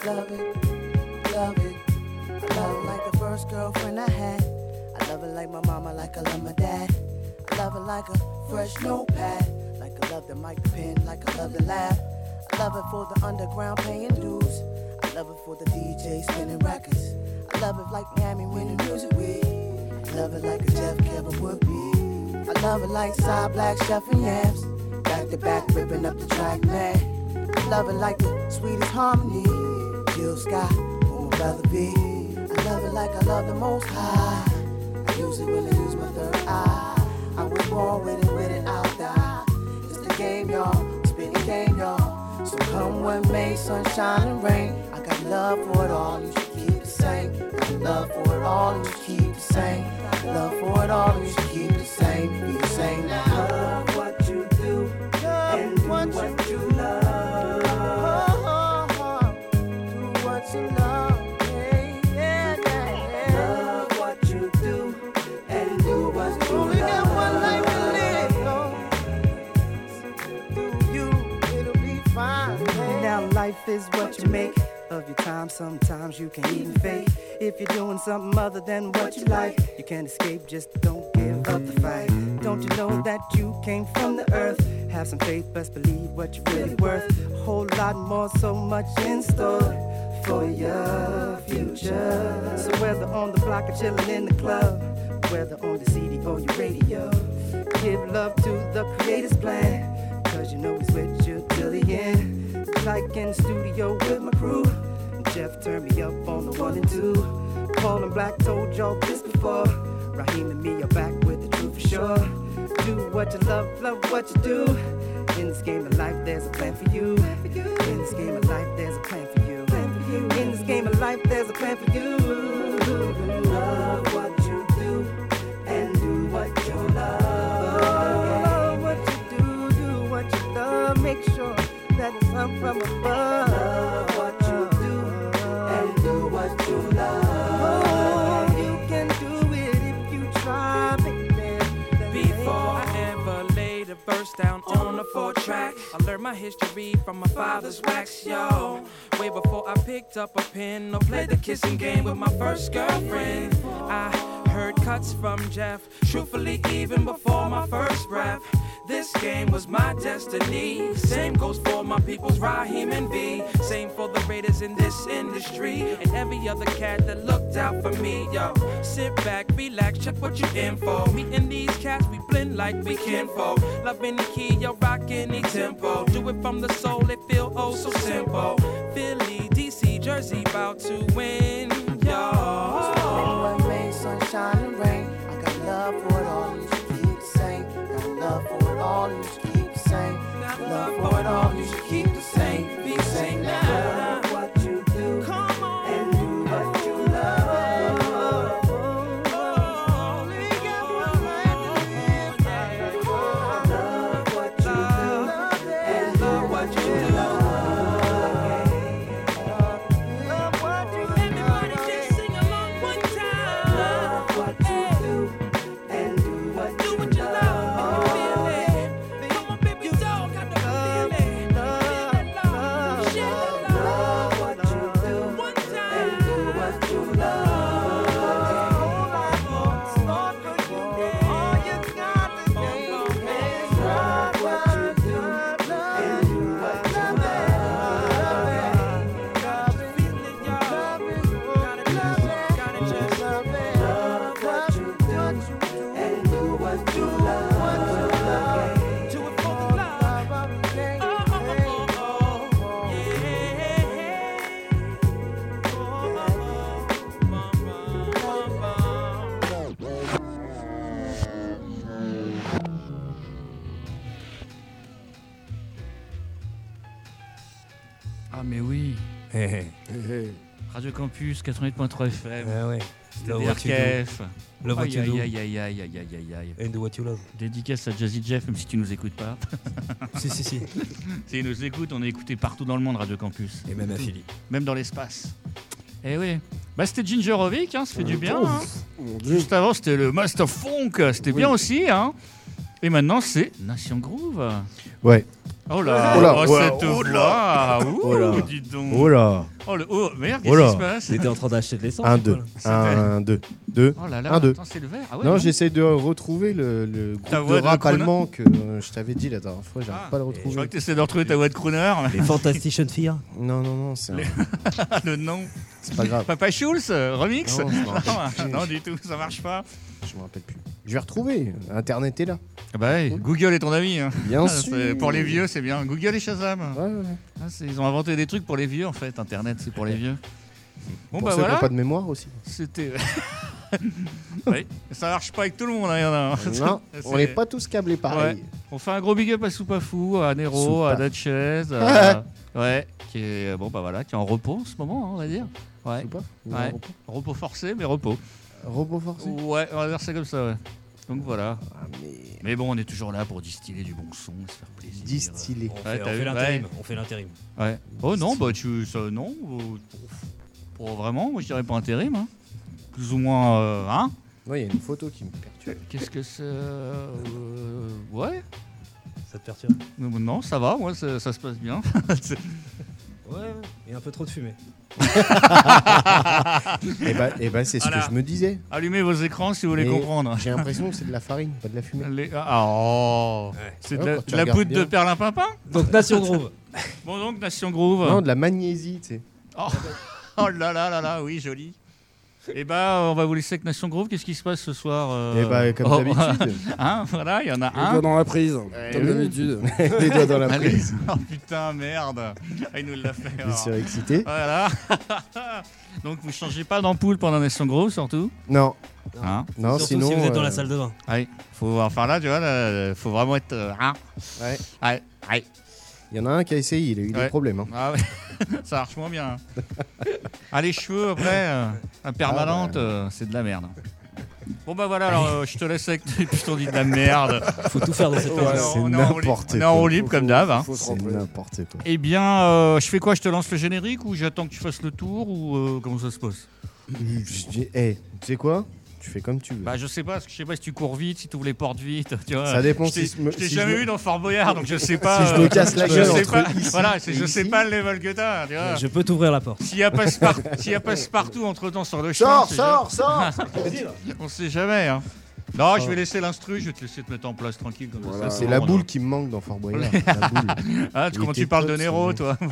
love it, love it. I love it like the first girlfriend I had. I love it like my mama, like I love my dad. I love it like a fresh notepad. Like I love the mic, the pen, like I love the lab. I love it for the underground paying dues. I love it for the DJ spinning records. I love it like Miami winning music week. I love it like a Jeff Kevin would be. I love it like Side Black Chef and Yams. Back to back ripping up the track, man. I love it like the sweetest harmony. Jill Scott, who my brother be. I love it like I love the Most High. I use it when I use my third eye. I was born with it, I'll die. It's the game, y'all, spinning game, y'all. So come what may, sunshine and rain. I got love for it all, you should keep the same. Got love for it all, you should keep the same. Got love for it all, you should keep the same. Be the same now. Love what you do, and do what you love. Do what you love. Life is what you make of your time. Sometimes you can even fake. If you're doing something other than what you like, you can't escape, just don't give up the fight. Don't you know that you came from the earth? Have some faith, best believe what you're really worth. A whole lot more, so much in store for your future. So whether on the block or chilling in the club, whether on the CD or your radio, give love to the creator's plan, cause you know he's with you till the end. Like in the studio with my crew, Jeff turned me up on the 1 and 2. Paul and Black told y'all this before. Raheem and me are back with the truth for sure. Do what you love, love what you do. In this game of life, there's a plan for you. In this game of life, there's a plan for you. In this game of life, there's a plan for you. Love what you do and do what you love. Love what you do what you love. Make sure that it's up from above. Love what you do and do what you love. Oh, you can do it if you try, baby. Before I ever laid a verse down on a 4-track, I learned my history from my father's wax, yo. Way before I picked up a pen or played the kissing game with my first girlfriend. I heard cuts from Jeff, truthfully even before my first breath. This game was my destiny. Same goes for my people's Raheem and V. Same for the Raiders in this industry and every other cat that looked out for me. Yo, sit back, relax, check what you in for. Me and these cats, we blend like we kinfolk. Love any key, yo, rock any tempo. Do it from the soul, it feel oh so simple. Philly, DC, Jersey, about to win, yo. So when May, sunshine and rain, I got love for it all, you should keep the same. Got love for it all, you should keep the same. Got love for it all, you should keep the same. Be the same now. Love what you do and do what you love. Only got one life to live. Love what you do and do what you love. Love what you do. Everybody just sing along one time. Love what you do and do what you love. Feel it. Come on, baby, dog, got the feeling. Love what you do One and time. do what you love. All you got to do is love what you do and do what you love. What you do and do what you love. Do it for the love. Ah mais oui, Hé, hé. Radio Campus 88.3 FM, Ah ouais. Love what you do DRKF. Love what you do Aïe aïe aïe aïe aïe aïe aïe. and do what you love. Dédicace à Jazzy Jeff, même si tu nous écoutes pas. Si. S'il nous écoute, on est écouté partout dans le monde, Radio Campus. Et même à Philly. Même dans l'espace. Eh oui. Bah c'était Gingerovic, hein, ça fait du bien. Hein. Mon Dieu. Juste avant, c'était le Master Funk, c'était bien aussi. Hein. Et maintenant, c'est Nation Groove. Ouais. Oh là, Oh là, oh, ouais, cette oh voix. Ouh, Oh là. dis donc. Oh là. Oh, merde, Oh qu'est-ce là, qui se passe? t'étais en train d'acheter de l'essence. 1, ou quoi, 2. là 1, 2. 2. Oh là là, 1, 2. attends, c'est le vert. Ah ouais, Non, j'essaie de retrouver le Ta groupe voix de de rap crooner. allemand que je t'avais dit la dernière fois. J'arrive pas à le Je crois retrouver. que tu essaies de retrouver ta voix de crooner. Les Fantastic Fear. Non, c'est Le nom. c'est pas grave. Papa Schulz, remix? Non, je me rappelle plus. Non, du tout, ça marche pas. Je me rappelle plus. Je vais retrouver. Internet est là. Ah bah ouais, Google est ton ami. Hein. Bien Ah, sûr. pour les vieux, c'est bien. Google et Shazam. Ouais. Ah, ils ont inventé des trucs pour les vieux en fait. Internet, c'est pour les vieux. Bon Pour bah ceux qui voilà. n'ont pas de mémoire aussi. C'était. Oui, ça marche pas avec tout le monde. Hein, y en a. Non, C'est- on n'est pas tous câblés pareil. On fait un gros big up à Soupafou, à Nero, Soupa. à Dutchez, ouais, qui est bon bah voilà, qui est en repos en ce moment, hein, on va dire. Ouais. Ou pas Ouais. Repos forcé, mais repos. Robot forcé. Ouais, on va dire ça comme ça. Ouais. Donc voilà. Ah, mais Mais bon, on est toujours là pour distiller du bon son, se faire plaisir. distillé. On Ouais, fait, t'as vu, l'intérim. On fait l'intérim. Ouais. Oh non, bah tu ça non, pour vraiment, moi je dirais pas intérim. Hein. Plus ou moins, hein. Ouais, il y a une photo qui me perturbe. Qu'est-ce que c'est ouais. Ça te perturbe? Non, ça va, moi ça se passe bien. C'est- Ouais, il y a un peu trop de fumée. Et bah, c'est ce Voilà. que je me disais. Allumez vos écrans si vous voulez Mais comprendre. J'ai l'impression que c'est de la farine, pas de la fumée. Oh, c'est Ouais, de quand tu de la regardes poudre bien. de perlimpinpin. Donc Nation Groove. Bon donc Nation Groove. Non, de la magnésie, tu sais. Oh. Oh là là là là, oui joli. Et bah on va vous laisser avec Nation Groove. Qu'est-ce qui se passe ce soir Et bah, comme Oh. d'habitude. Hein, voilà, il y en a Les doigts un. dans la prise, comme oui. d'habitude. Les doigts dans la Allez. prise. Oh putain merde. Ah, il nous l'a fait. Je alors. suis excité. Voilà. Donc vous changez pas d'ampoule pendant Nation Groove surtout. Non, Hein non, Surtout sinon. si vous êtes dans la salle de bain. Ouais. Faut enfin là tu vois, là, faut vraiment être. Hein Ouais. Ouais. Ouais. Il y en a un qui a essayé, il a eu des Ouais. problèmes. Hein. Ah ouais, ça marche moins bien. Ah, les cheveux après, la permanente, c'est de la merde. Bon bah voilà, alors je te laisse avec tes pistons dit de la merde. Faut tout faire dans cette On est période. c'est en- on est en roue libre- n'importe on est en quoi. roue libre comme d'hab. Hein. Faut se C'est remplir. n'importe quoi. Eh bien, je fais quoi? Je te lance le générique ou j'attends que tu fasses le tour ou comment ça se passe? Eh, tu sais quoi? Tu fais comme tu veux. Bah je sais pas, parce que je sais pas si tu cours vite, si tu ouvres les portes vite, tu vois. Ça dépend Je t'ai si je me- je t'ai si jamais je me- vu dans Fort Boyard, donc je sais pas. Si je me casse la je gueule sais entre pas. ici Voilà, et je sais ici. pas le level que t'as, tu vois. Je peux t'ouvrir la porte. S'il y a passe-partout entre temps sur le chemin, Sors, on sait jamais. sors On sait jamais. Hein. Non, je vais laisser l'instru, je vais te laisser te mettre en place tranquille. Comme Voilà. ça, C'est la boule qui me manque dans Fort Boyard. La boule. Ah, Il comment était tu parles de top, Nero, ce toi?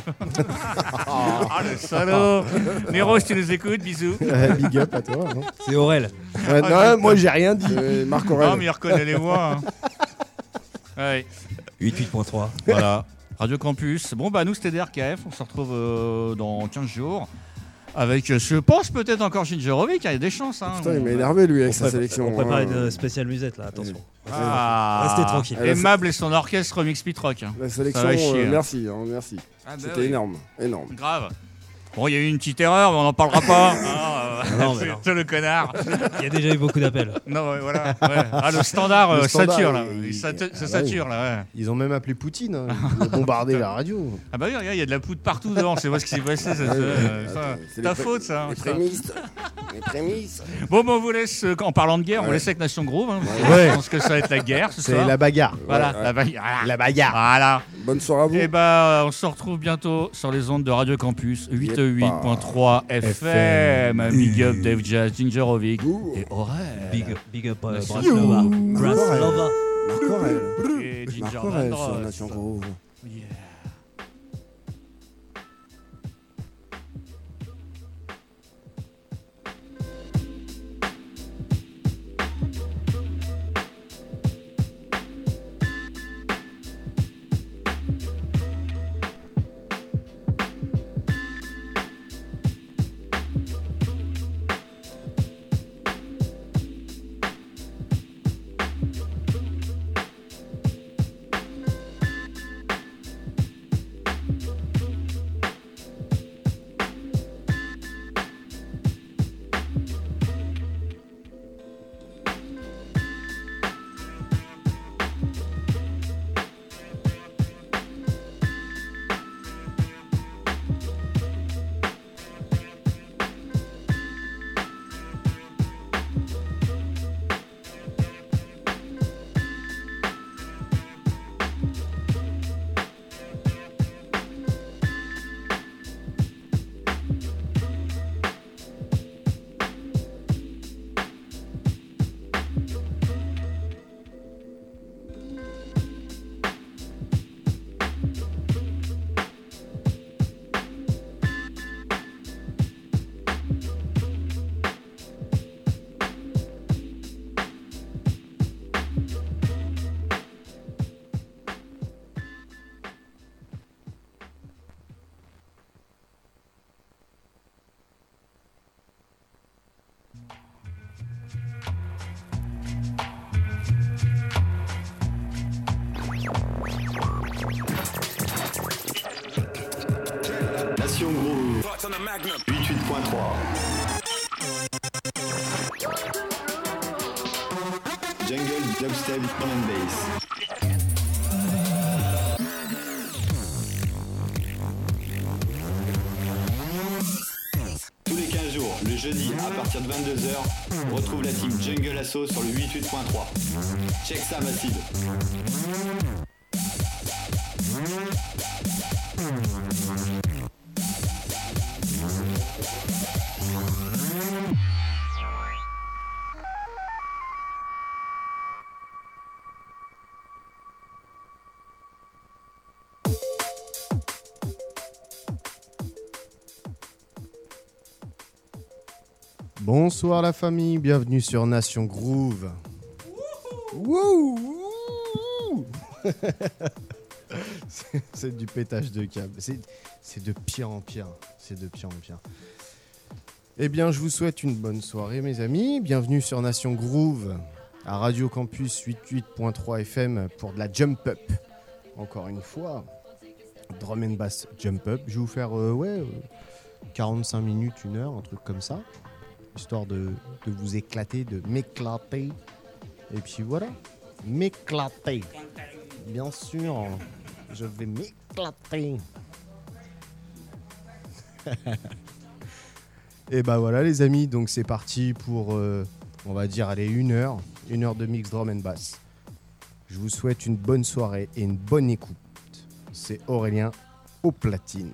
Ah, le salaud. Nero, si tu nous écoutes, bisous. Big up à toi. Hein. C'est Aurel. Ouais, non, moi j'ai rien dit. Marc Non, Aurèle. mais il reconnaît les voix. Hein. Ouais. 88.3. Voilà. Radio Campus. Bon, bah, nous, c'était DRKF. On se retrouve dans 15 jours. Avec, je pense, peut-être encore Gingerovic. Il y a des chances. Hein. Putain, il m'a énervé lui avec On sa sélection. On prépare hein. une spéciale musette là, attention. Ah. Restez tranquille. Aimable et son orchestre remix Pitrock. La Ça sélection, va chier, hein. merci, hein, merci. Ah, bah C'était oui. énorme, énorme. Grave. Bon, il y a eu une petite erreur, mais on n'en parlera pas. Non, mais non. C'est le connard. Il y a déjà eu beaucoup d'appels. Non, ouais, voilà. Ouais. Ah, le standard, Le standard, sature, là. il- Ça ah bah sature, là, ouais. Ils ont même appelé Poutine. Hein. Ils ont bombardé la radio. Ah bah oui, regarde, il y a de la poudre partout devant. C'est pas ce qui s'est passé. Ça, C'est ta les faute, ça. Les ça. prémices. Les prémices. Bon, on vous laisse, en parlant de guerre, on vous laisse avec Nation Groove. Hein, Ouais. Je pense que ça va être la guerre ce C'est soir. la bagarre. Voilà, Ouais, ouais. la bagarre. La bagarre. Voilà. Bonne soirée à vous. Et bah, on se retrouve bientôt sur les ondes de Radio Campus 88.3 FM. Big up Dave Jazz, Gingerovic et Aurel. Big up Merci. Braslova. Braslova. Marc Aurèle. Et Marc Ginger Aurèle Vandross. sur Nation Groove. Yeah. Jungle Dubstep Drum and Bass. Tous les 15 jours, le jeudi à partir de 22h, retrouve la team Jungle Assault sur le 88.3. Check ça, Mathilde. Bonsoir la famille, bienvenue sur Nation Groove. Wouhou. C'est du pétage de câble. C'est de pire en pire. C'est de pire en pire. Eh bien, je vous souhaite une bonne soirée, mes amis. Bienvenue sur Nation Groove à Radio Campus 88.3 FM pour de la jump up. Encore une fois, drum and bass jump up. Je vais vous faire 45 minutes, 1 heure, un truc comme ça. Histoire de vous éclater, de m'éclater. Et puis voilà, m'éclater. Bien sûr, je vais m'éclater. Et bah voilà les amis, donc c'est parti pour, on va dire, allez, 1 heure de mix drum and bass. Je vous souhaite une bonne soirée et une bonne écoute. C'est Aurélien aux platines.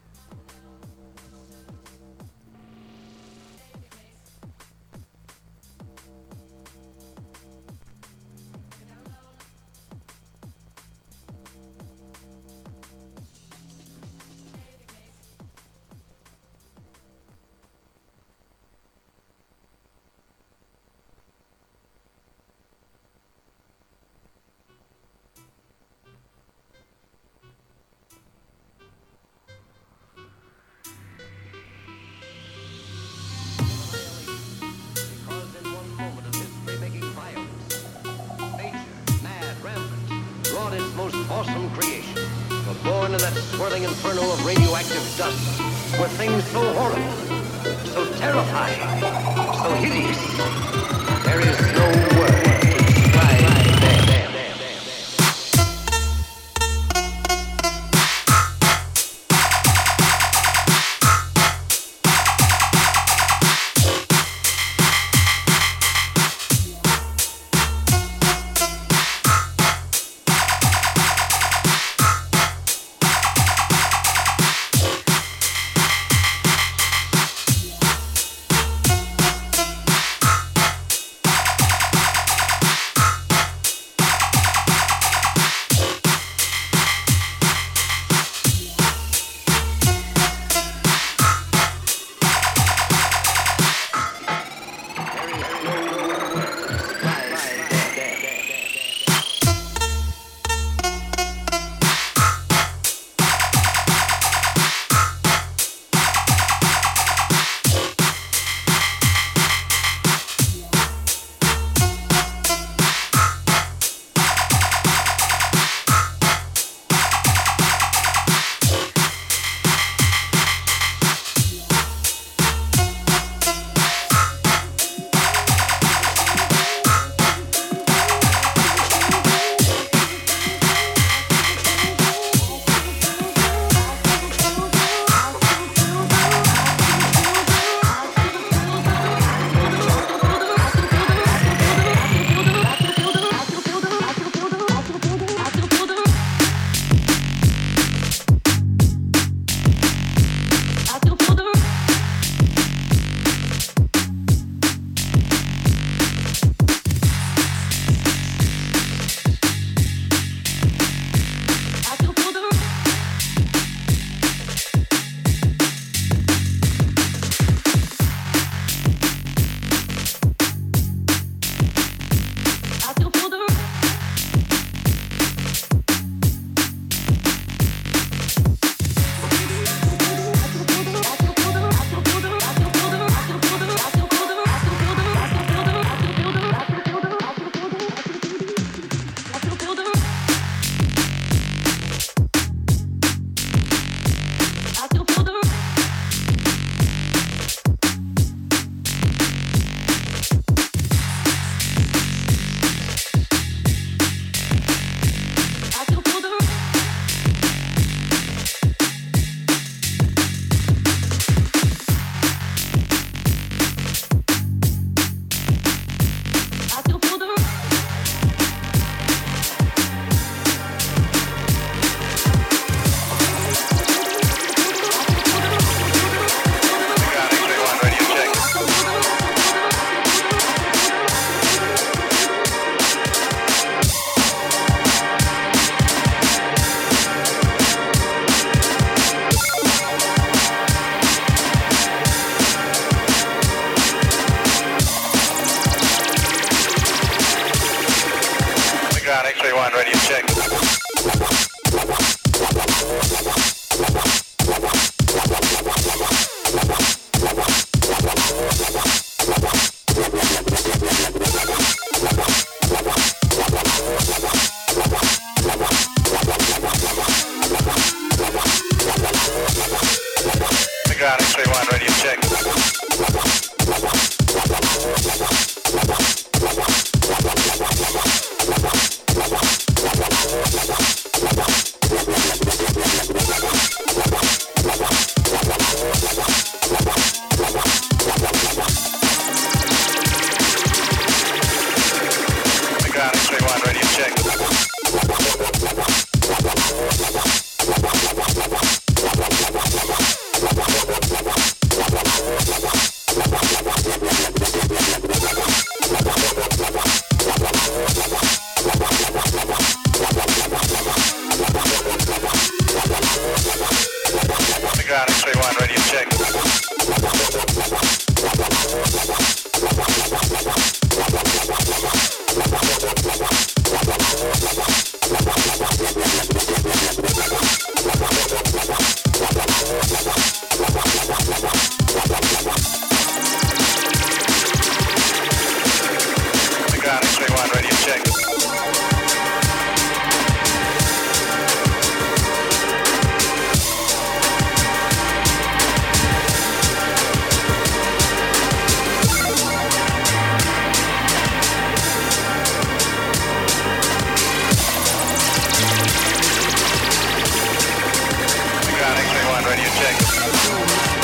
Awesome creation, but born in that swirling inferno of radioactive dust, were things so horrible, so terrifying, so hideous. There is no word to describe them. X-ray 1, ready to check. The ground X-ray 1, ready to check. The ground X-ray 1, ready to check. The ground X-ray 1, ready to check. The ground X-ray 1, ready to check. The ground X-ray 1, ready to check.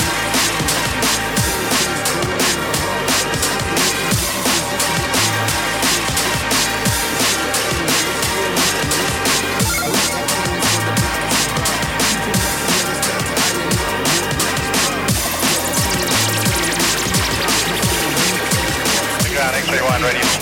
The ground X-ray 1, ready to check.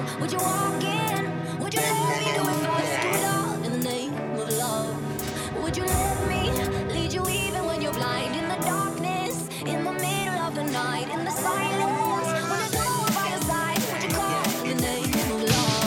Would you walk in? Would you let me do it first? Do it all in the name of love. Would you let me lead you even when you're blind? In the darkness, in the middle of the night, in the silence, when there's no one by your side, would you call in the name of love?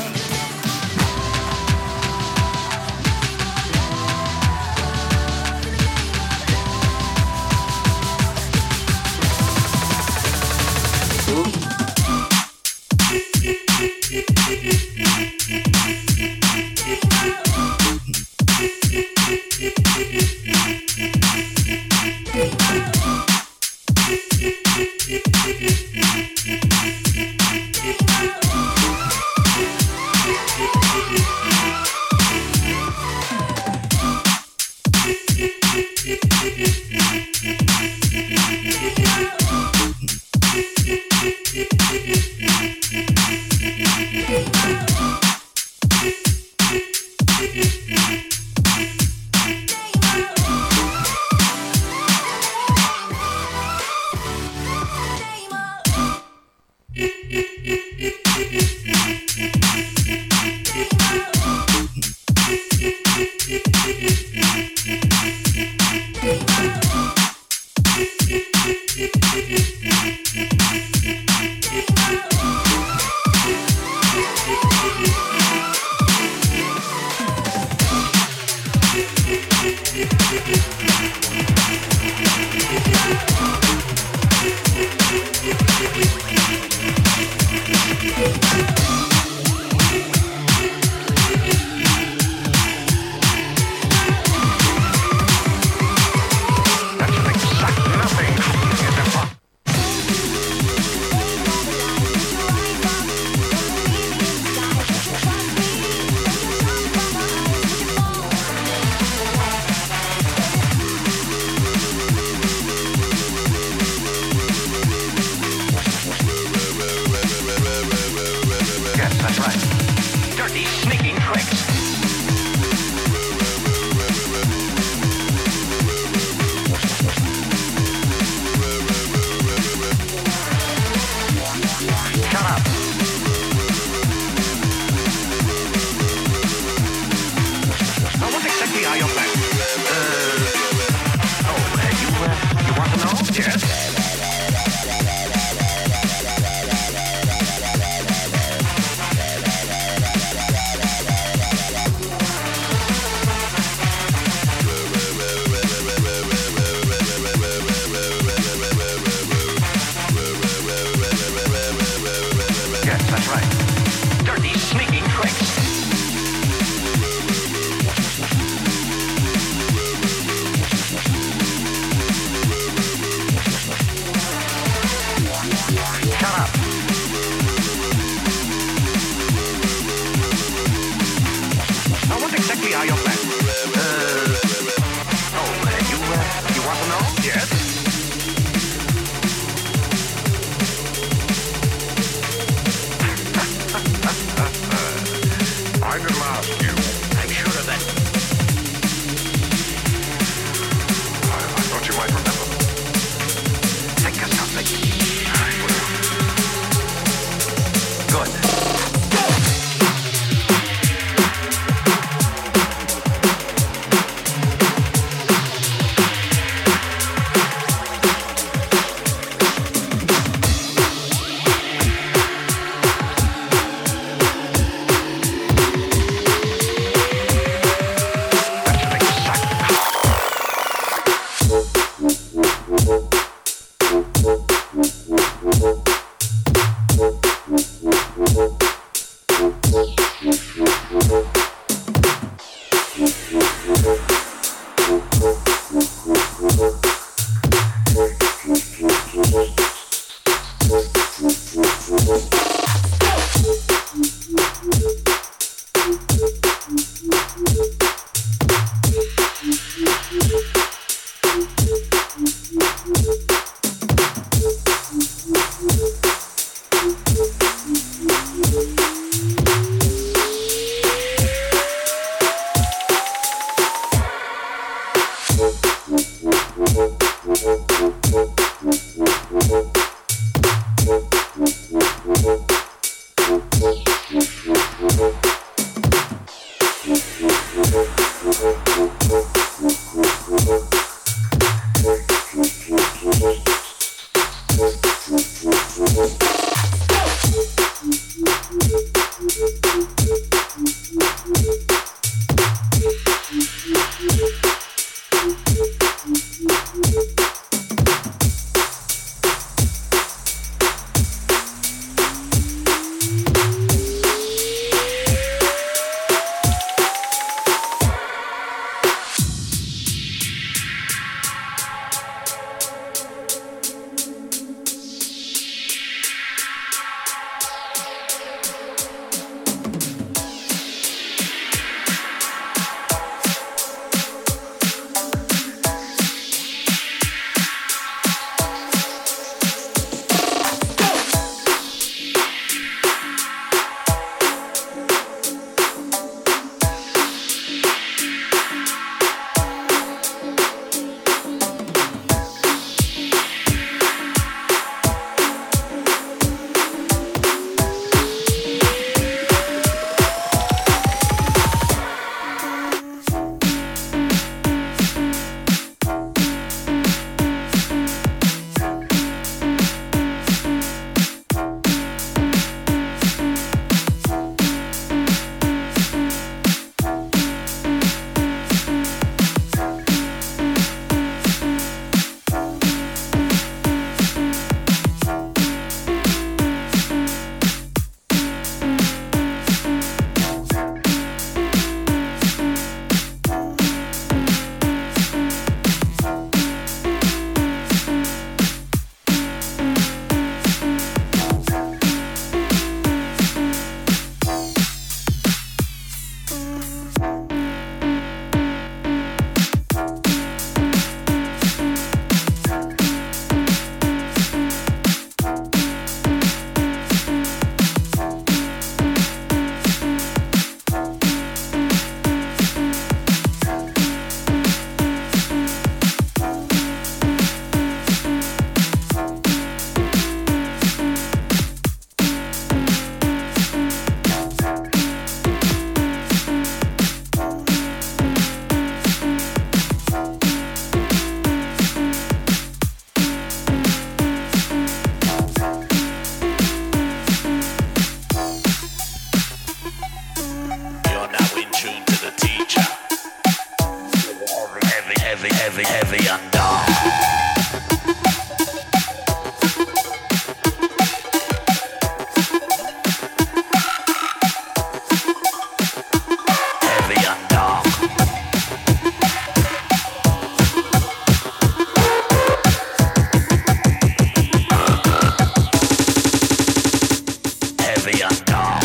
heavy and dark.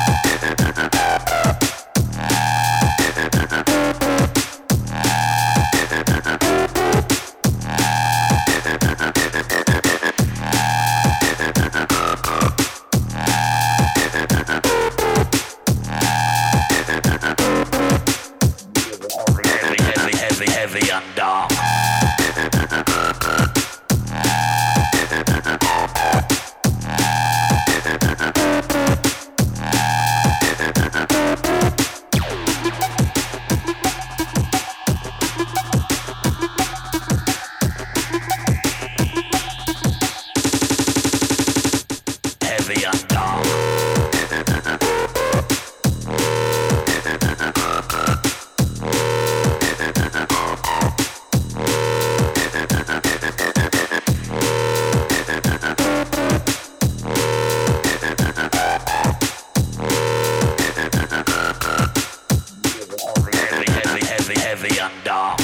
Heavy and dark. Heavy and dark. Heavy and dark.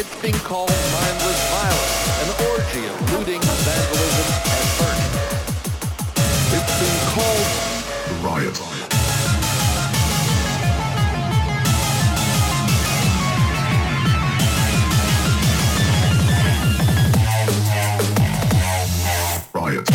It's being called mindless violence, an orgy of looting, vandalism, and burning. It's being called the riot. Riot.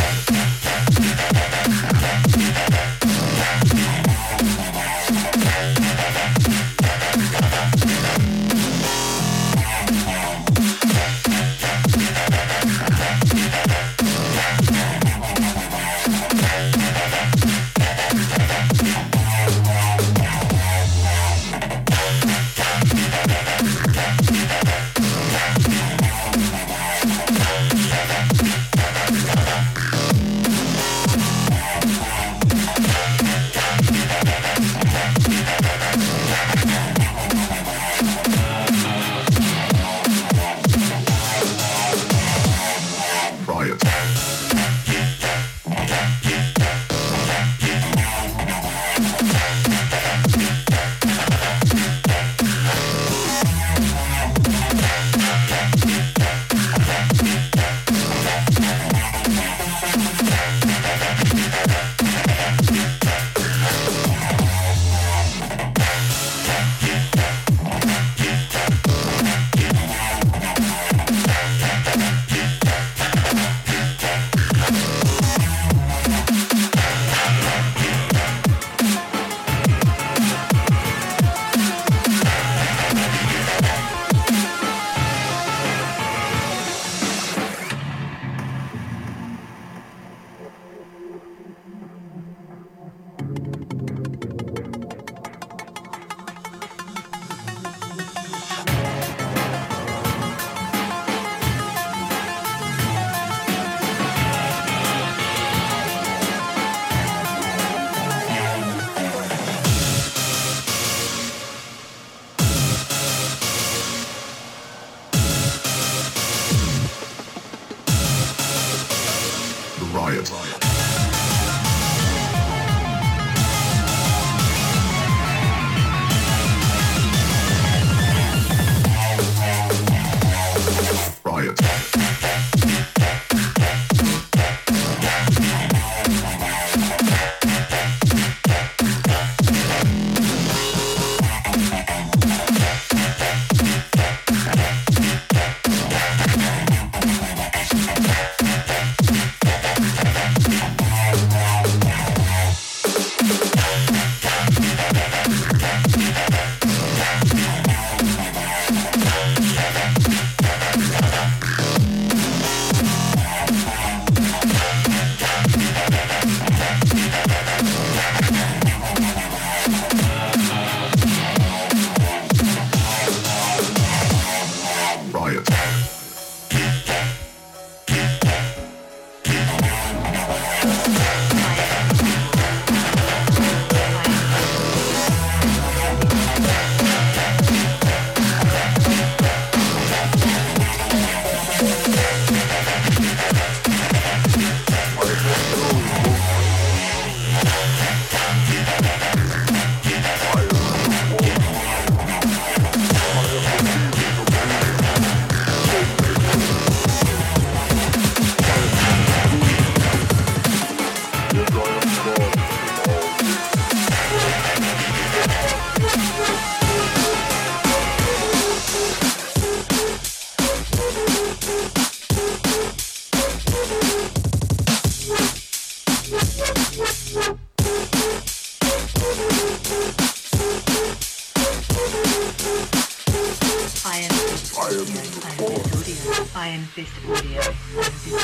Iron Fist Audio. Iron Fist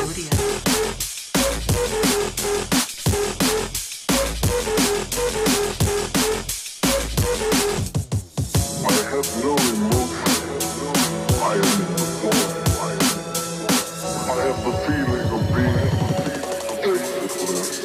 Audio. I have no emotion. I am in the void. I have the feeling of being effortless.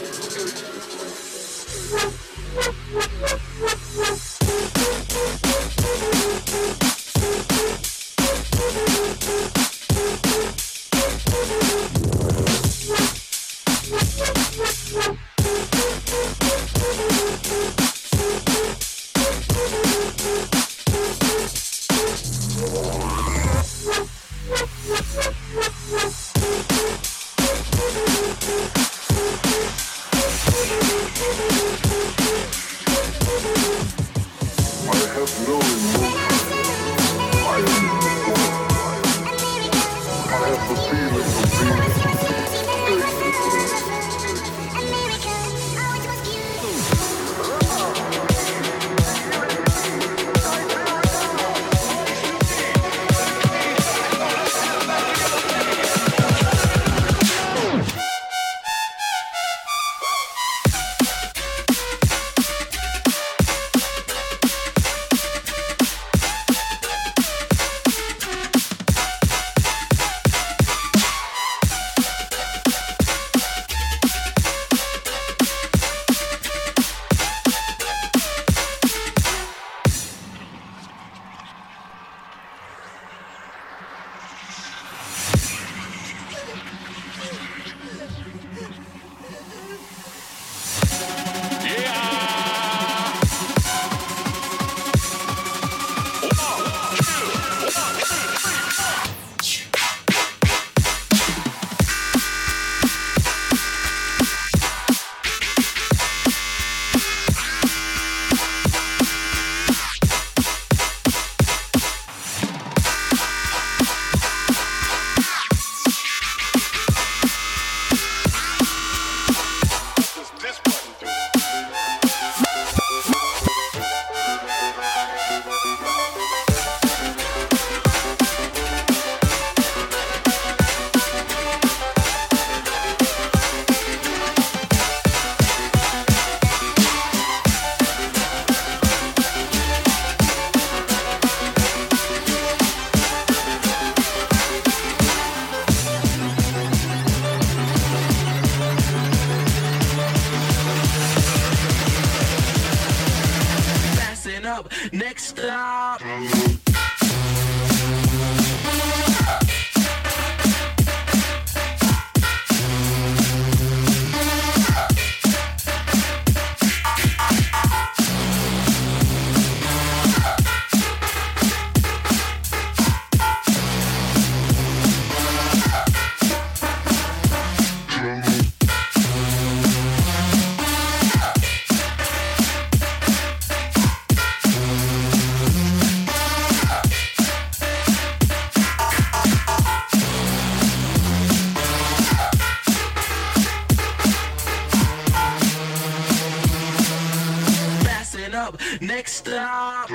stop. Next stop.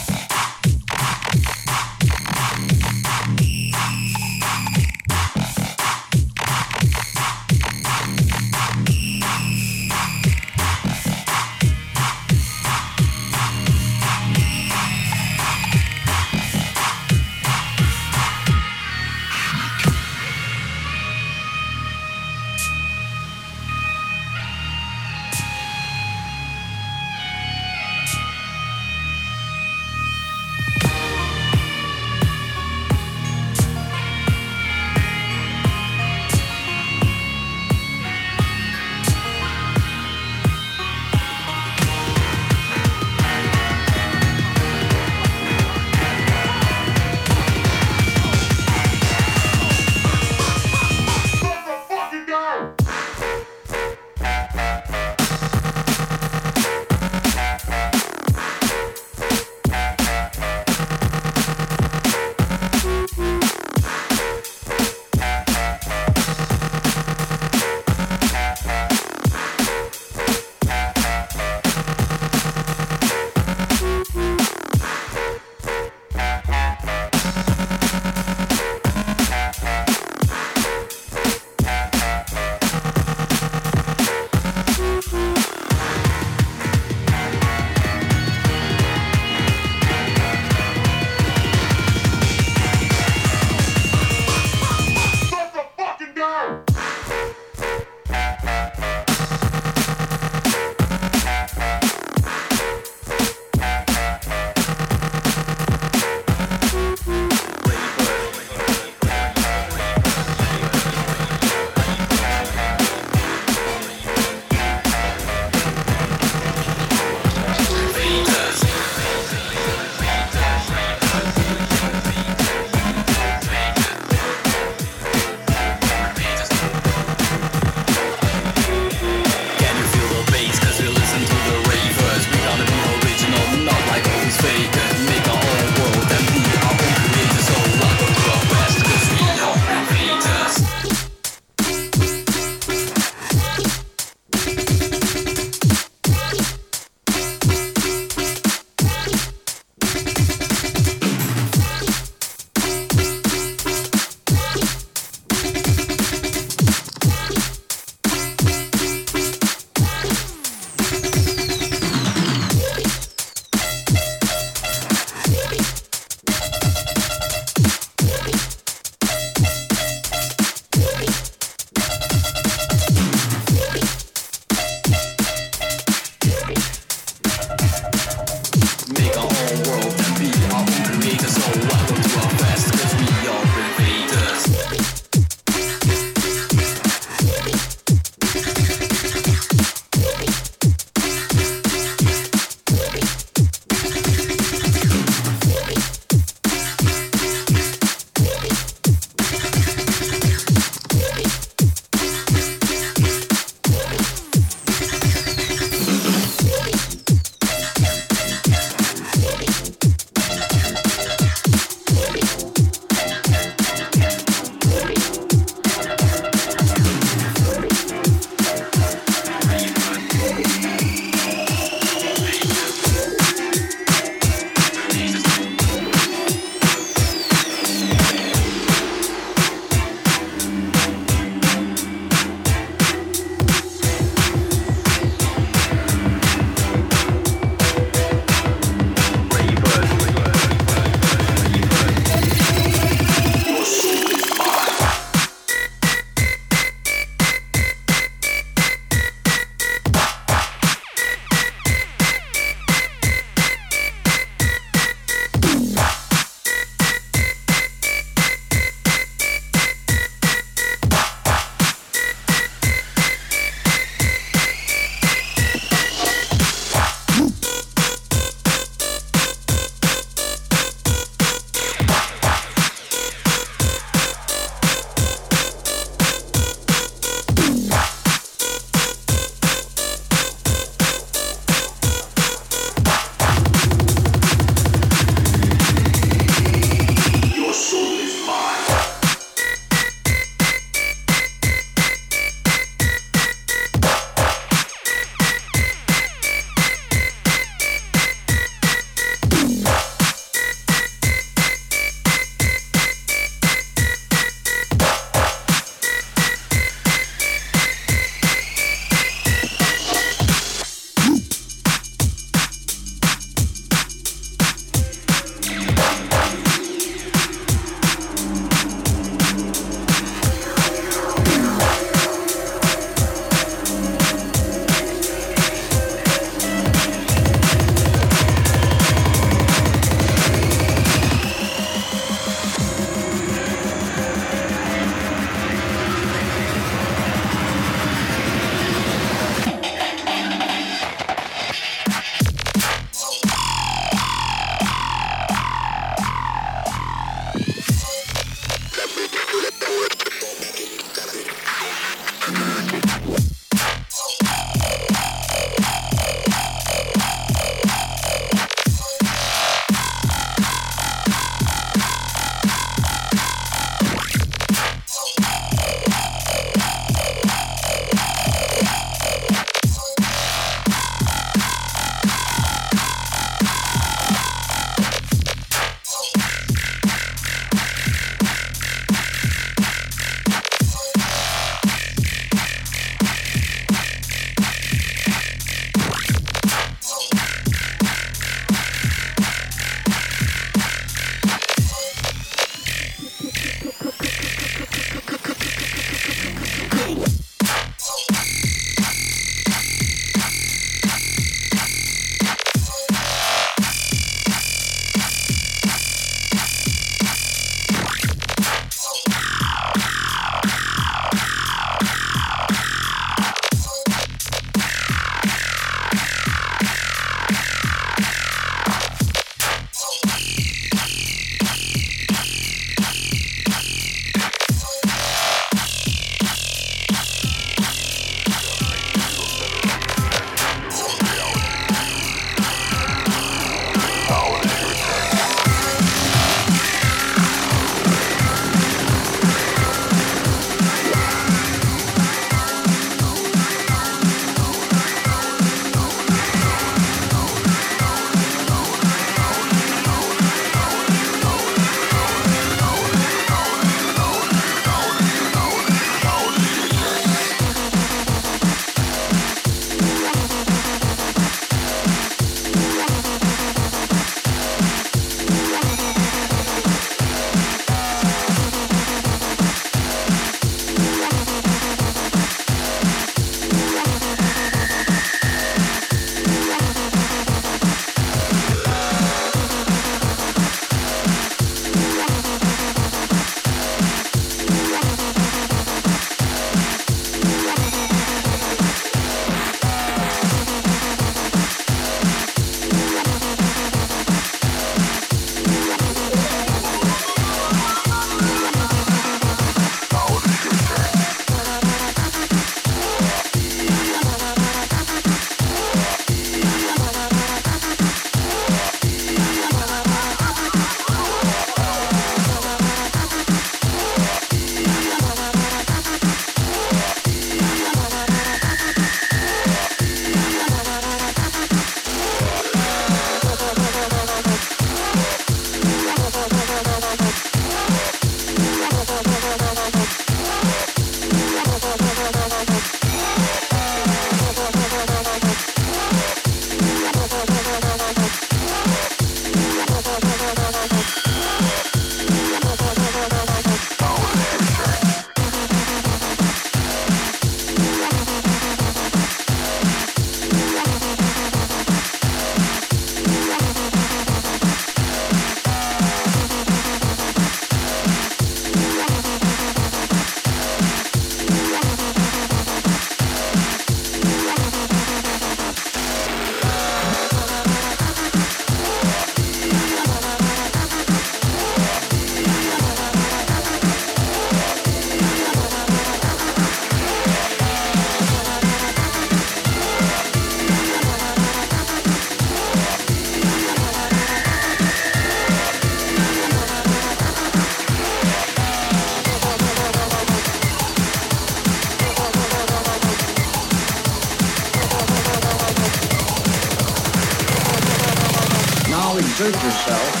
yourself.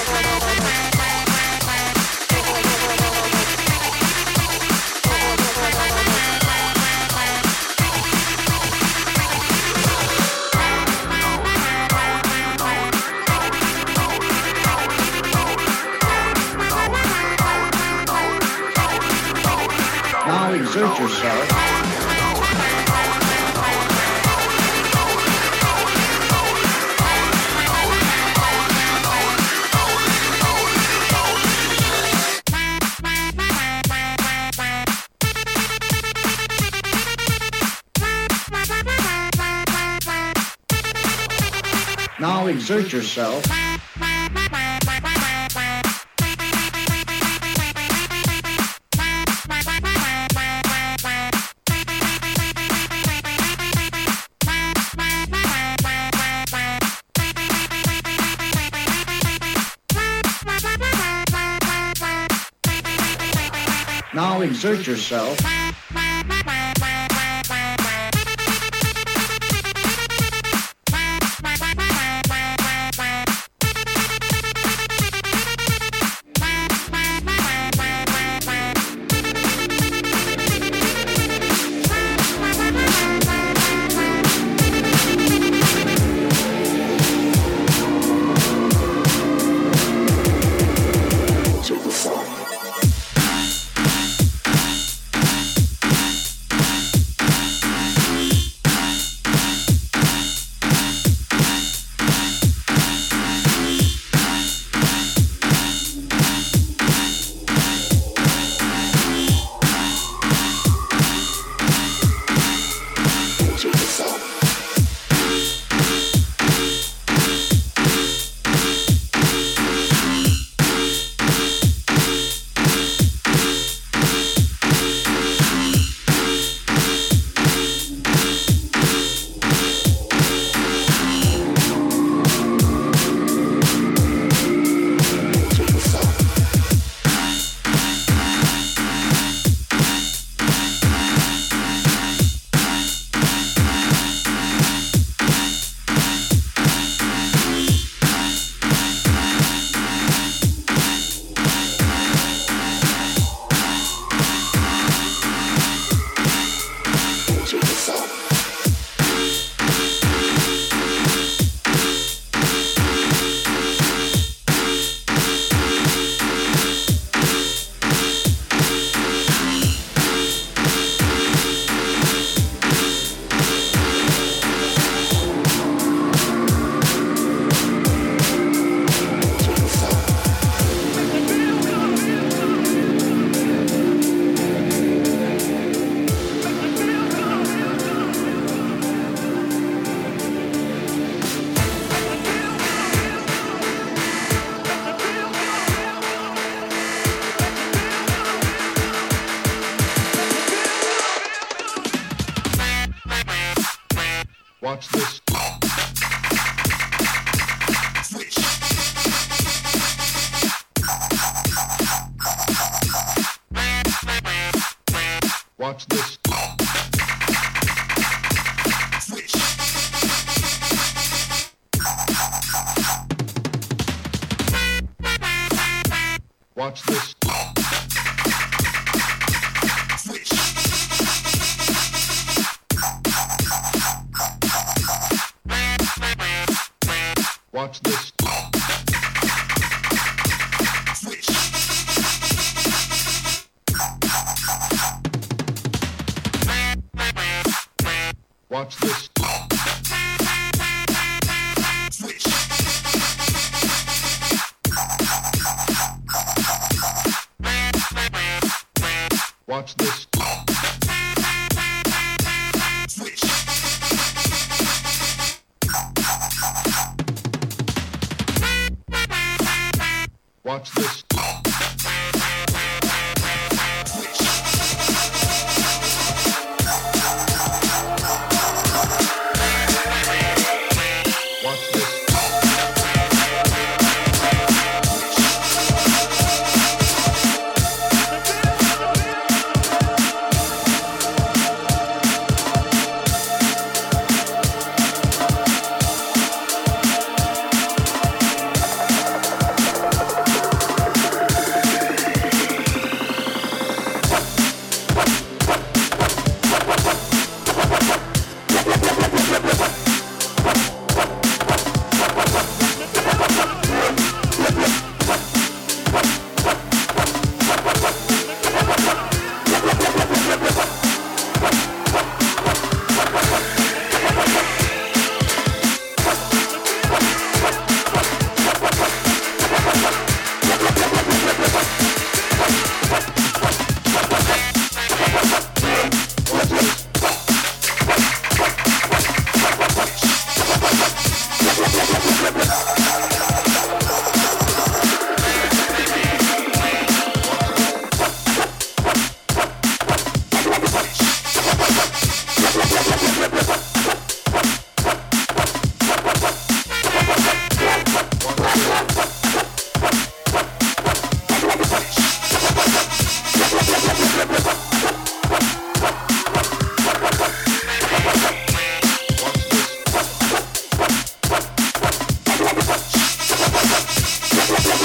Now exert yourself. Now exert yourself. Now exert yourself. Watch this. Switch. Watch this. Switch. Watch this. Switch. Watch this. Switch. Watch this. Switch. Watch this. Switch. Watch this.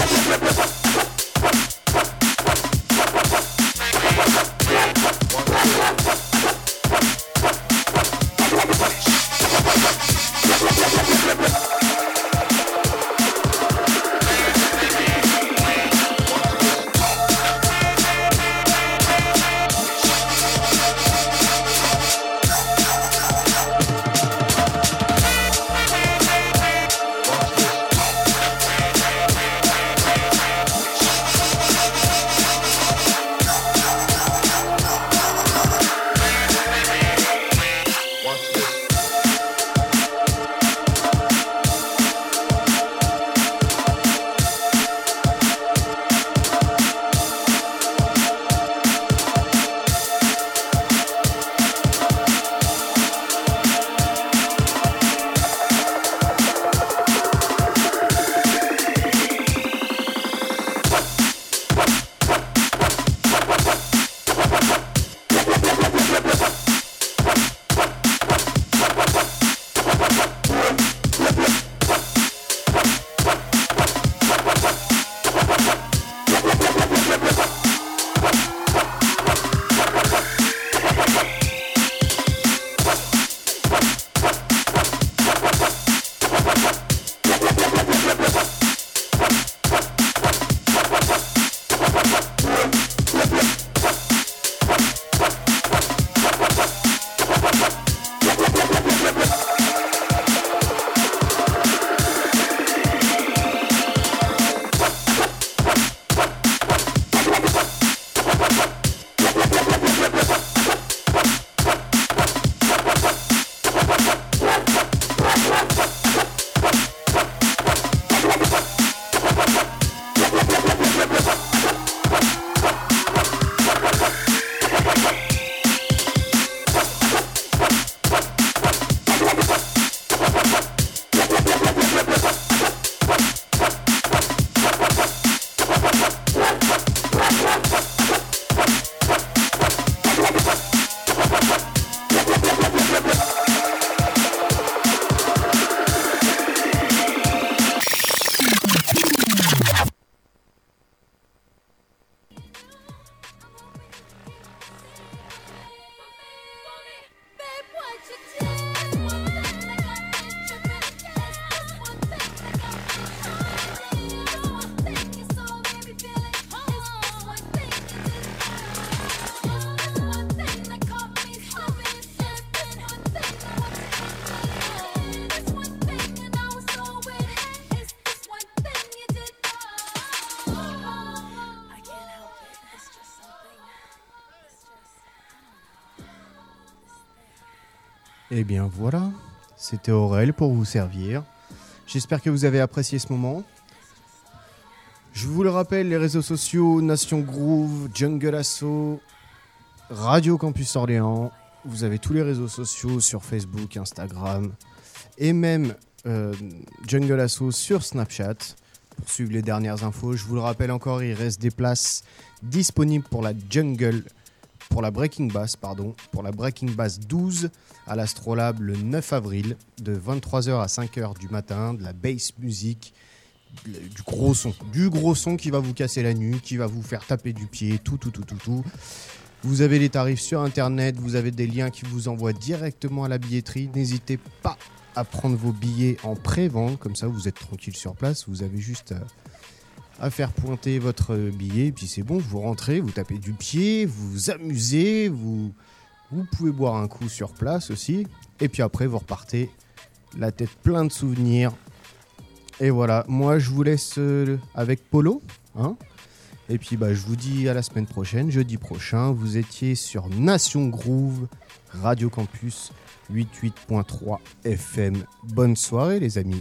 Eh bien voilà, c'était Aurel pour vous servir. J'espère que vous avez apprécié ce moment. Je vous le rappelle, les réseaux sociaux, Nation Groove, Jungle Assault, Radio Campus Orléans. Vous avez tous les réseaux sociaux sur Facebook, Instagram et même Jungle Assault sur Snapchat pour suivre les dernières infos. Je vous le rappelle encore, il reste des places disponibles pour la Breaking Bass 12 à l'Astrolabe le 9 avril de 23h à 5h du matin, de la bass music, du gros son qui va vous casser la nuque, qui va vous faire taper du pied, tout. Vous avez les tarifs sur internet, vous avez des liens qui vous envoient directement à la billetterie. N'hésitez pas à prendre vos billets en pré-vente, comme ça vous êtes tranquille sur place, vous avez juste à faire pointer votre billet, et puis c'est bon, vous rentrez, vous tapez du pied, vous vous amusez, vous pouvez boire un coup sur place aussi, et puis après vous repartez la tête pleine de souvenirs. Et voilà, moi je vous laisse avec Polo, hein. Et puis je vous dis à la semaine prochaine, jeudi prochain. Vous étiez sur Nation Groove, Radio Campus 88.3 FM. Bonne soirée les amis.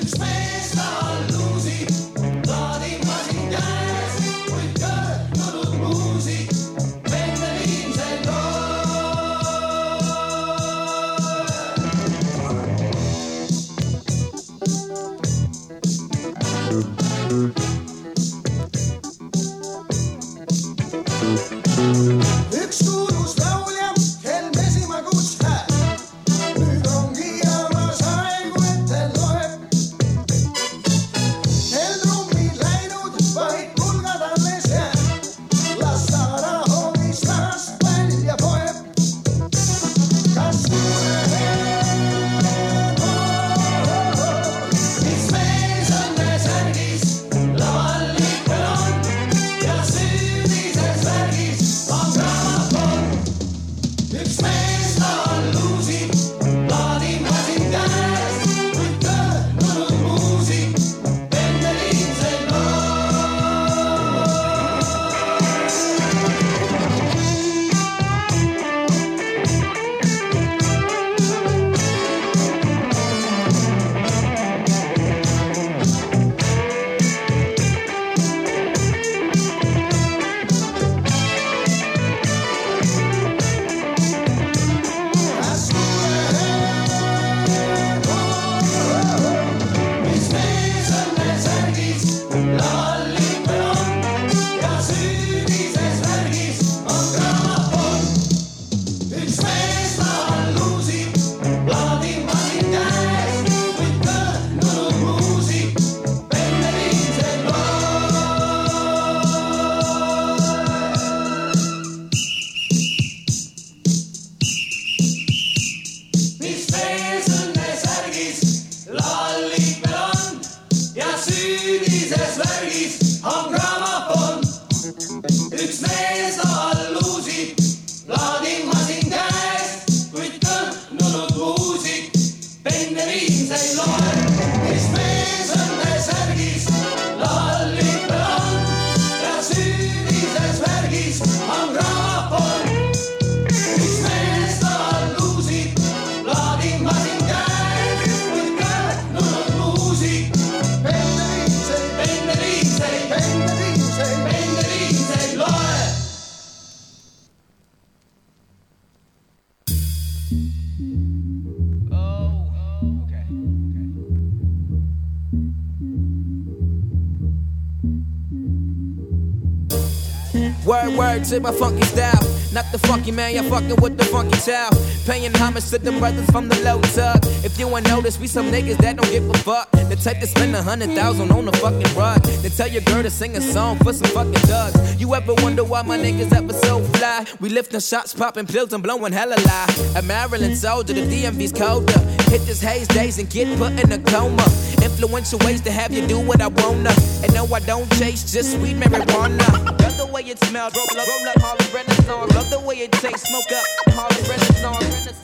Word to my funky style. Not the funky man, you're fucking with the funky child. Paying homage to them brothers from the low tug. If you ain't noticed, we some niggas that don't give a fuck. The type to spend 100,000 on the fucking rug. Then tell your girl to sing a song for some fucking thugs. You ever wonder why my niggas ever so fly? We lifting shots, popping pills and blowing hella lie. A Maryland soldier, the DMV's colder. Hit this haze days and get put in a coma. Influential ways to have you do what I wanna. And no, I don't chase, just sweet marijuana. Love the way it smells, roll up, Harlem Renaissance. Love the way it tastes, smoke up, Harlem Renaissance.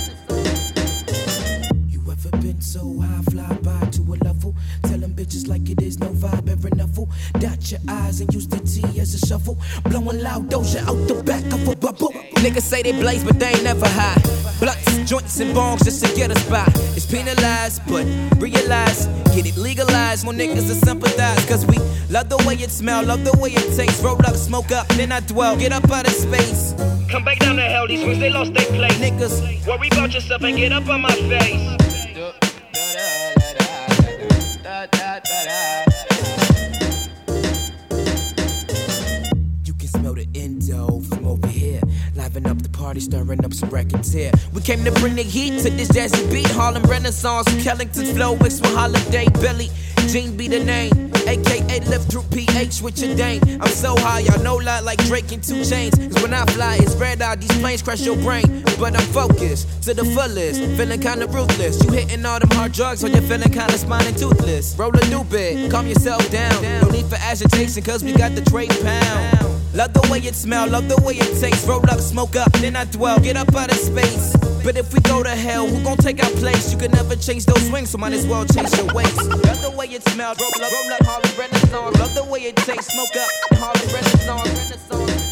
You ever been so high, fly by to a level? Tell them bitches like it is, no vibe ever nuffle. Dot your eyes and use the T as a shuffle. Blowing loud doja out the back of a bubble. Niggas say they blaze, but they ain't never high. Blunts, joints, and bongs just to get us by. It's penalized, but realize, get it legalized. More niggas to sympathize, cause we love the way it smell, love the way it tastes. Roll up, smoke up, then I dwell, get up out of space. Come back down to hell, these swings, they lost their place. Niggas, worry about yourself and get up on my face. You can smell the endo from over here. Liven up the party, stirring up some records here. We came to bring the heat to this jazzy beat. Harlem Renaissance, Kellington's flow mixed with Holiday Billy. Gene be the name, aka lift through PH with your dame. I'm so high, y'all know lot like Drake and 2 Chainz. Cause when I fly, it's red eye, these planes crash your brain. But I'm focused to the fullest, feeling kinda ruthless. You hitting all them hard drugs, or you're feeling kinda spine and toothless. Roll a new bit, calm yourself down. No need for agitation, cause we got the trade pound. Love the way it smell, love the way it tastes. Roll up, smoke up, then I dwell, get up out of space. But if we go to hell, who gon' take our place? You can never change those swings, so might as well change your ways. Love the way it smells, roll up, Harlem Renaissance. Love the way it tastes, smoke up, Harlem Renaissance.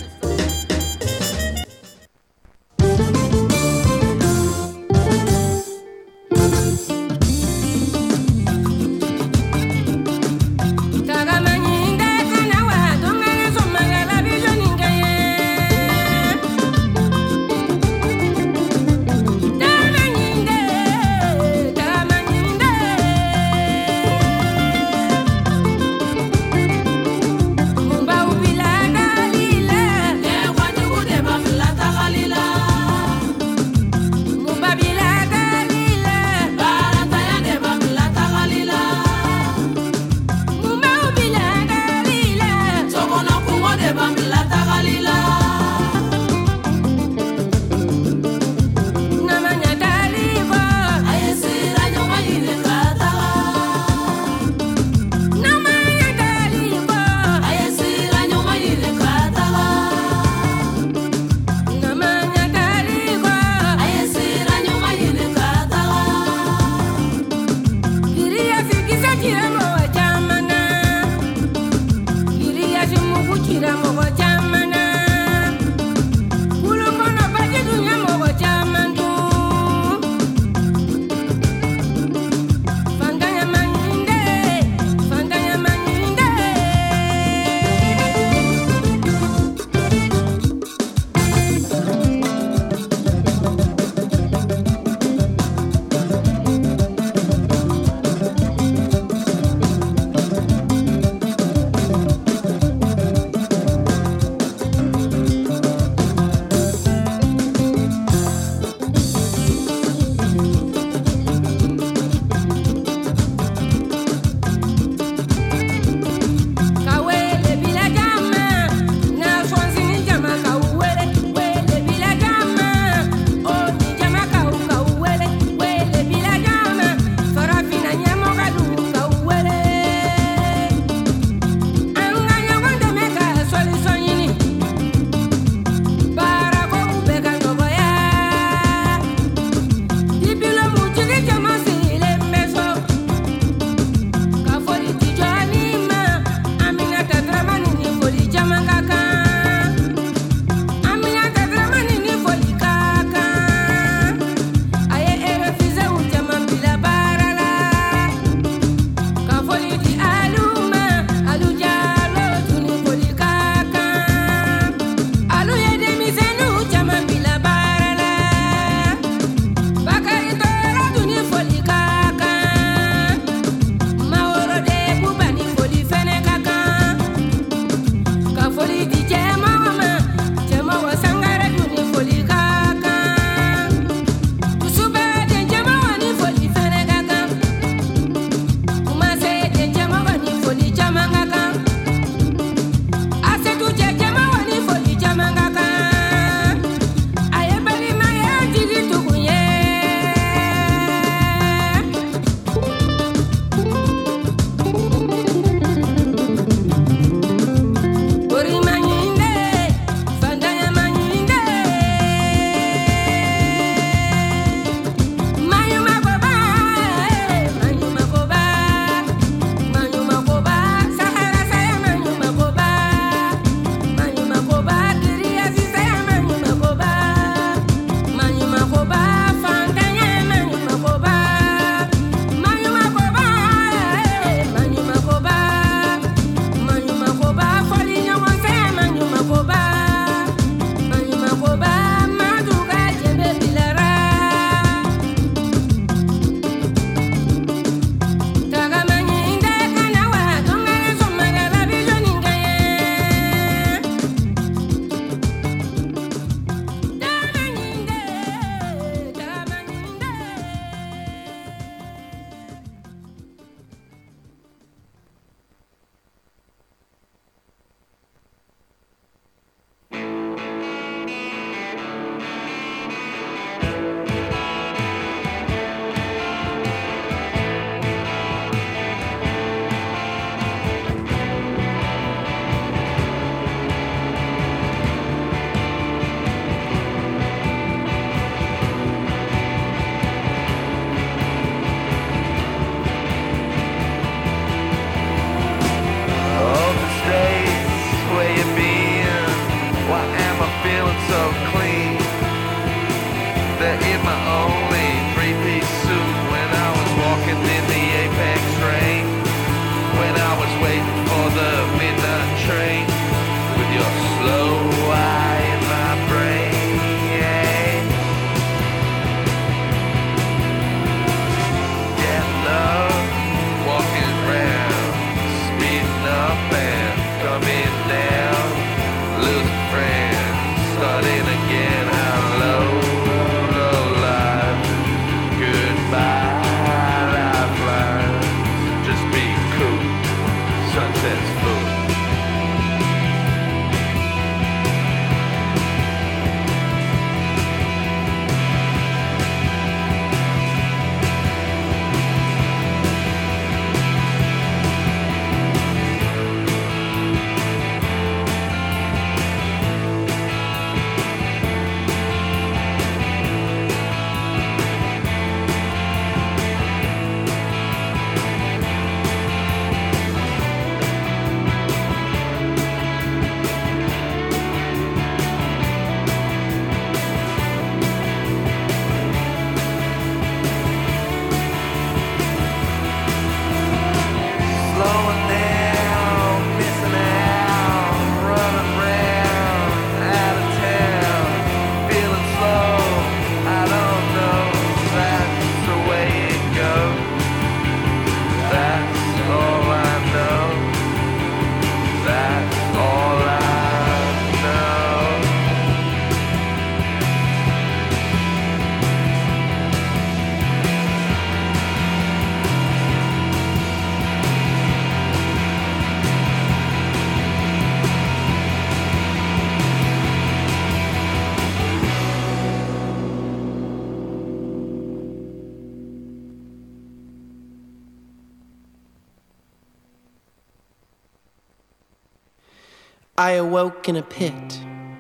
I awoke in a pit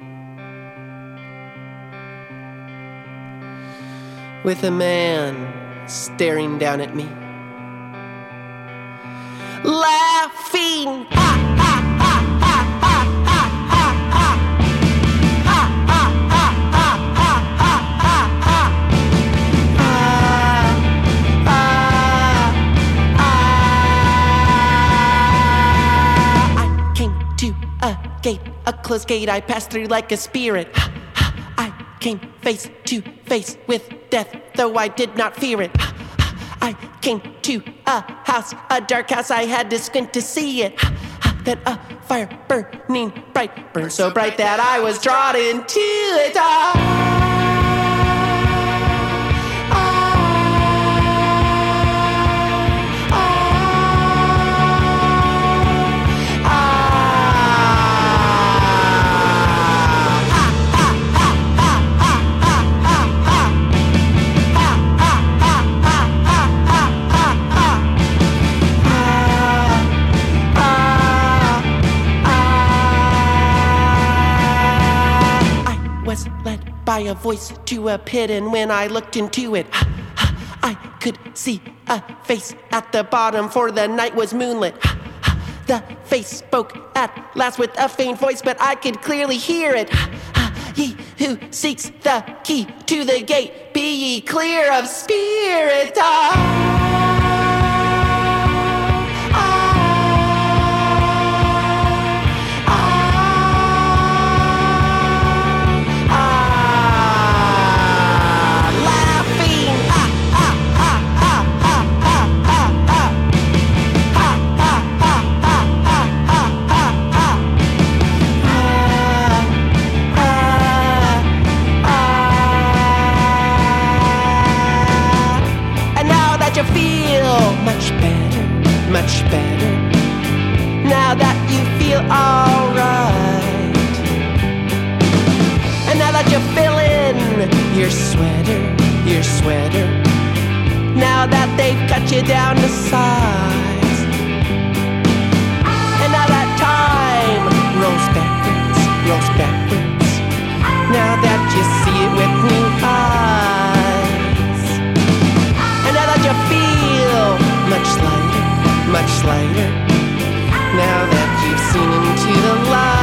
with a man staring down at me, laughing. Ha, ha, ha, ha, ha, ha, ha, ha. Ha, ha, ha, ha, ha, ha, ha, ha. I came to a gate, a closed gate I passed through like a spirit. I came face to face with death, though I did not fear it. I came to a house, a dark house, I had to squint to see it. Then a fire burning bright, burned so bright that I was drawn into it. By a voice to a pit, and when I looked into it, I could see a face at the bottom, for the night was moonlit. The face spoke at last with a faint voice, but I could clearly hear it. Ye who seeks the key to the gate, be ye clear of spirit. Much better, now that you feel alright. And now that you're feeling your sweater, now that they've cut you down to size. And now that time rolls backwards, now that you see it with new eyes. And now that you feel much lighter, now that you've seen into the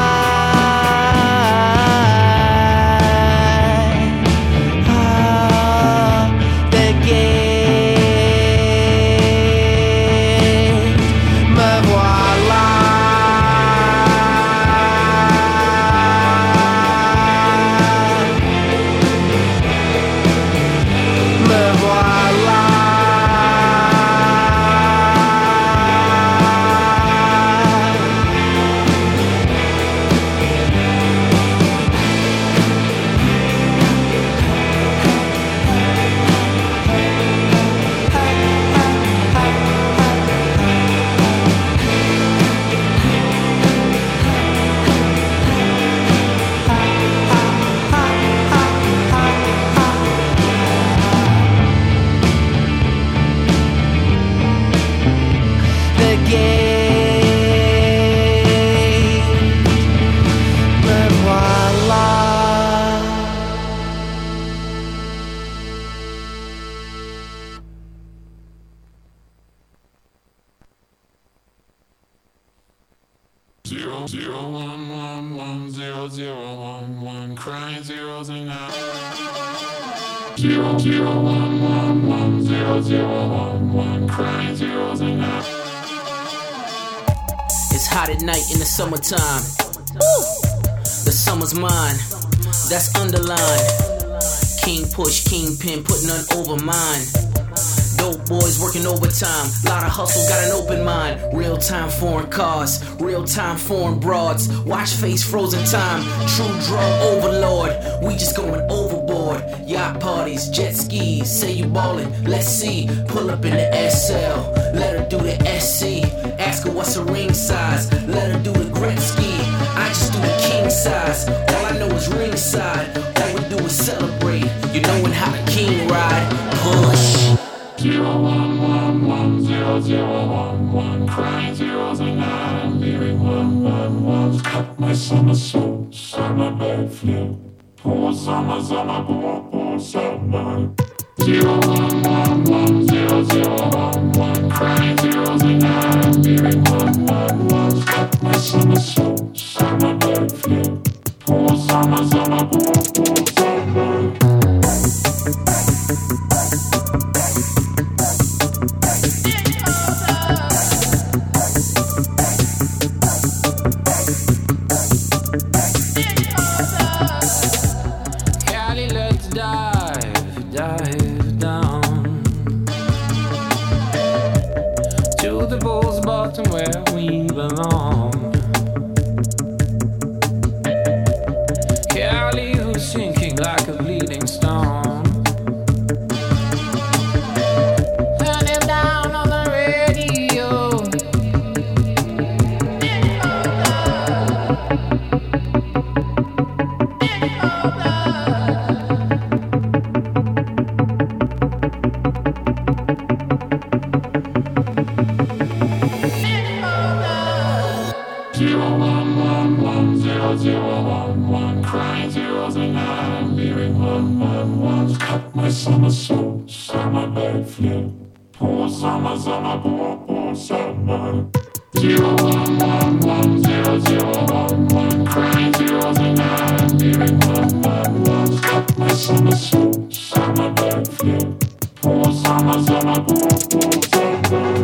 light. The gate, me voilà. Me voilà. It's hot at night in the summertime. Woo! The summer's mine. That's underlined. King push, kingpin, put none over mine. Dope boys working overtime. Lot of hustle, got an open mind. Real time foreign cars, real time foreign broads. Watch face frozen time. True drug overlord. We just going overboard. Yacht parties, jet skis. Say you ballin', let's see. Pull up in the SL. Let her do the SC. Ask her what's her ring size. Let her do the Gretzky. I just do the king size. All I know is ringside. All we do is celebrate. You knowin' how the king ride. Push. 011100111, crying zeros and I'm hearing 111 was cut my summer soul, summer bed flew. Poor summer, summer, poor summer. 0111001, crying zeros and I'm hearing 111. Cut my summer soul, summer bed flew. Poor summer, summer, poor summer. Cali, let's dive down to the bull's bottom where we belong. Cali, who's sinking like a bleeding stone. Turn him down on the radio. Crying zeros and I'm hearing 111. Cut my summer soul, summer bed flew. Poor summer, summer, poor summer. 0111001, crying zeros and I'm hearing 111. Cut my summer soul, summer bed flew. Poor summer, summer, poor summer.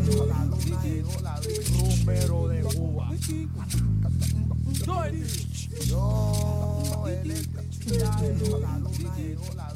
Rumbero de Cuba. Yo, electricidad llegó la luna, llegó la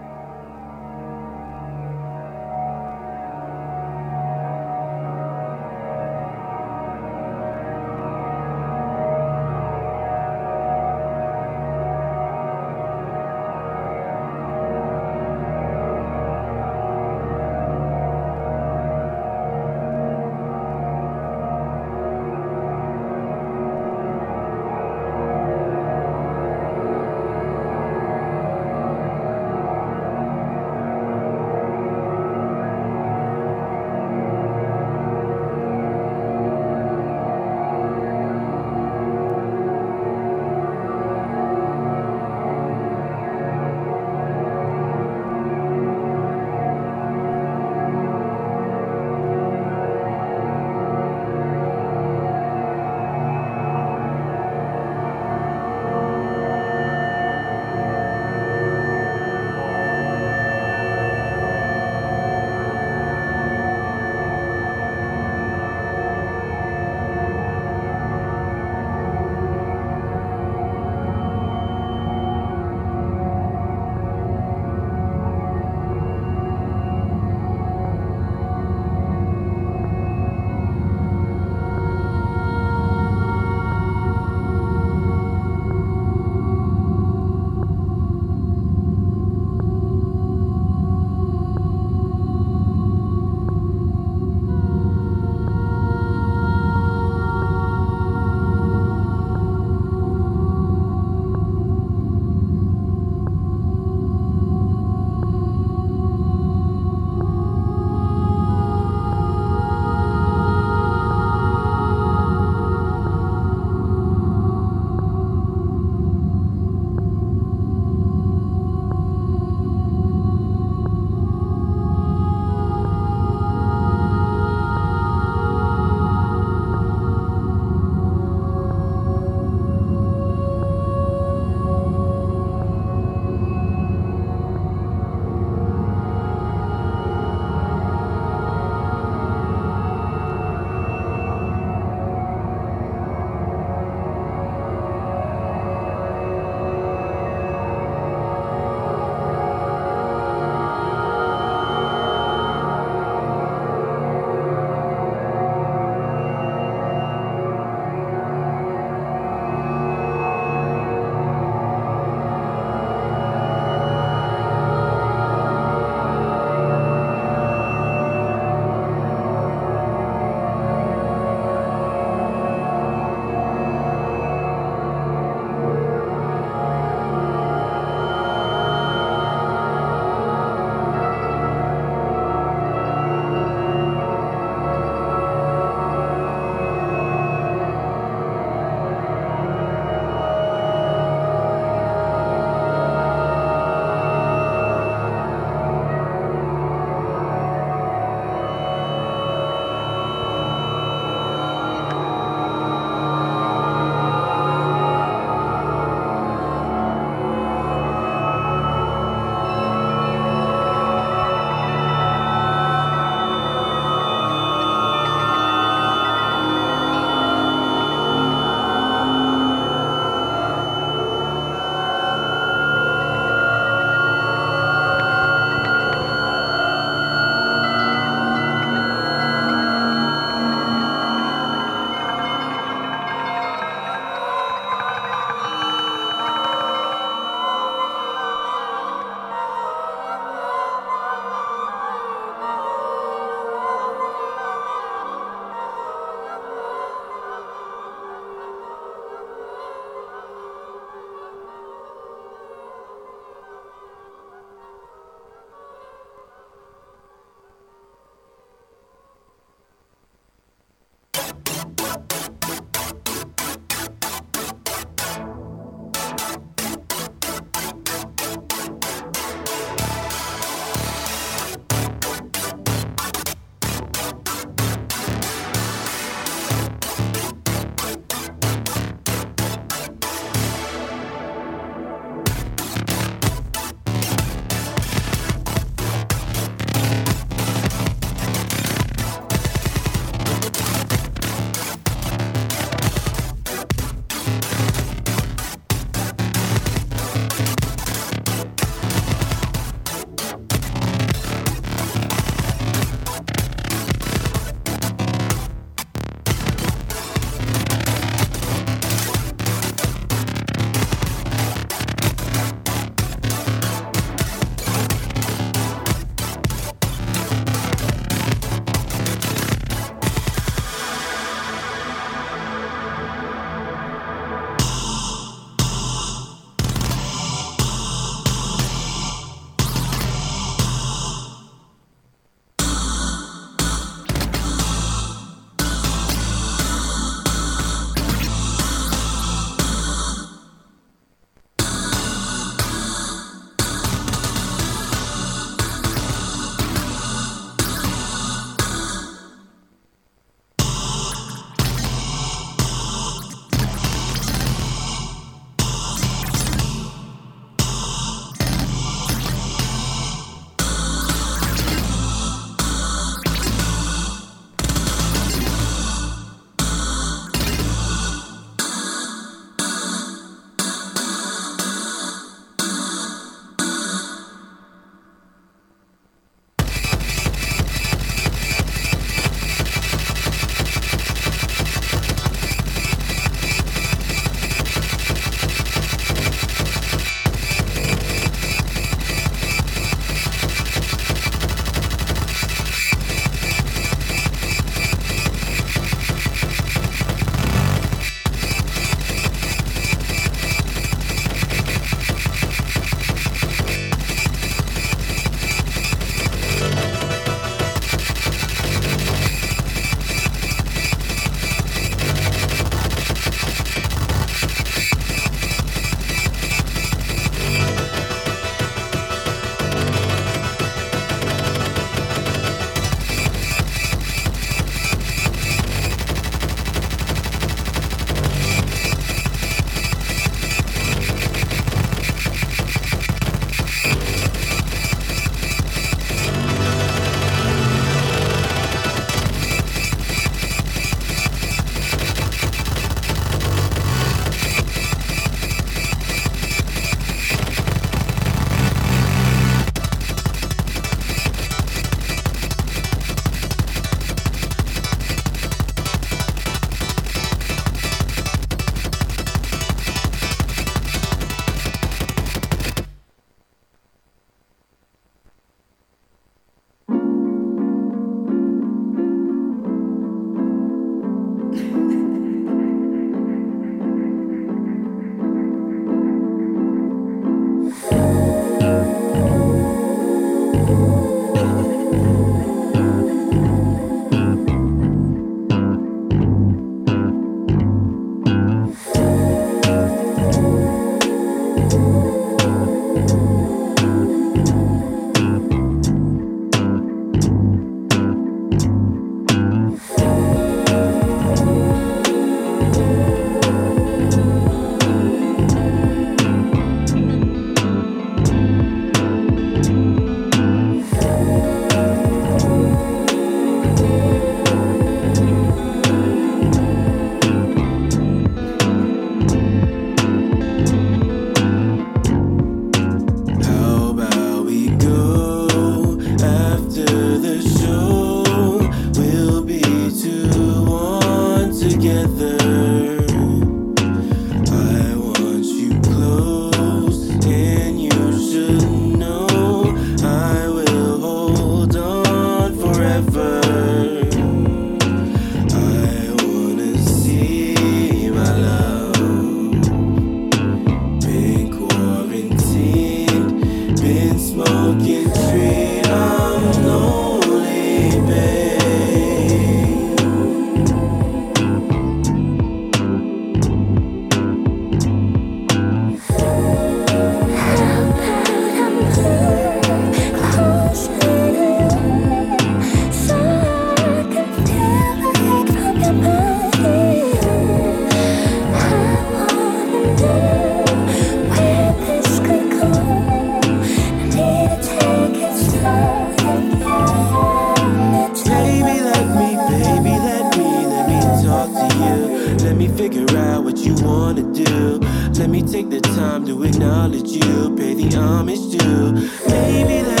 Let me take the time to acknowledge you, pay the homage to. Maybe